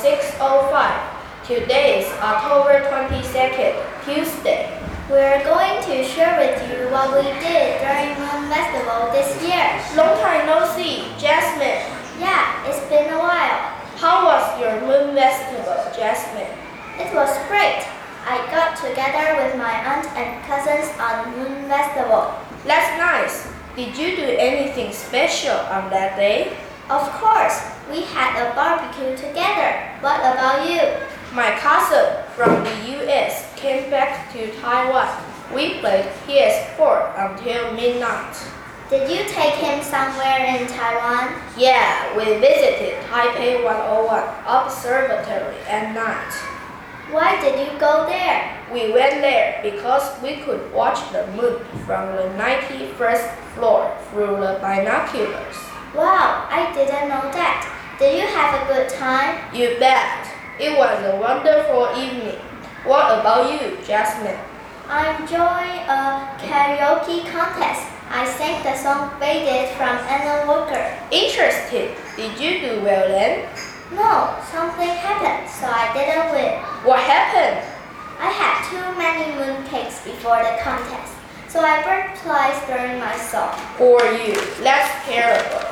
6:05. Today is October 22nd, Tuesday. We're going to share with you what we did during Moon Festival this year. Long time no see, Jasmine. Yeah, it's been a while. How was your Moon Festival, Jasmine? It was great. I got together with my aunt and cousins on Moon Festival. That's nice. Did you do anything special on that day? Of course, we had a barbecue together. What about you? My cousin from the US came back to Taiwan. We played PS4 until midnight. Did you take him somewhere in Taiwan? Yeah, we visited Taipei 101 Observatory at night. Why did you go there? We went there because we could watch the moon from the 91st floor through the binoculars. Wow, I didn't know that. Did you have a good time? You bet. It was a wonderful evening. What about you, Jasmine? I enjoyed a karaoke contest. I sang the song Faded from Anna Walker. Interesting. Did you do well then? No, something happened, so I didn't win. What happened? I had too many mooncakes before the contest, so I burned twice during my song. Poor you. That's terrible.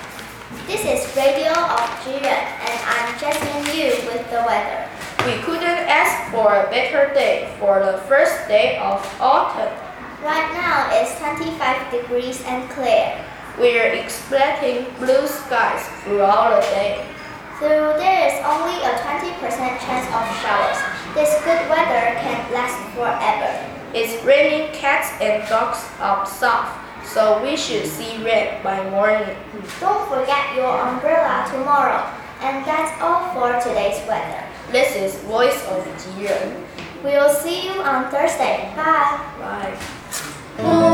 This is Radio of Jiren, and I'm Jasmine Yu with the weather. We couldn't ask for a better day for the first day of autumn. Right now it's 25 degrees and clear. We're expecting blue skies throughout the day. Though there is only a 20% chance of showers, this good weather can last forever. It's raining cats and dogs up south, so we should see rain by morning. Don't forget your umbrella tomorrow. And that's all for today's weather. This is Voice of Jiren. We'll see you on Thursday. Bye. Bye.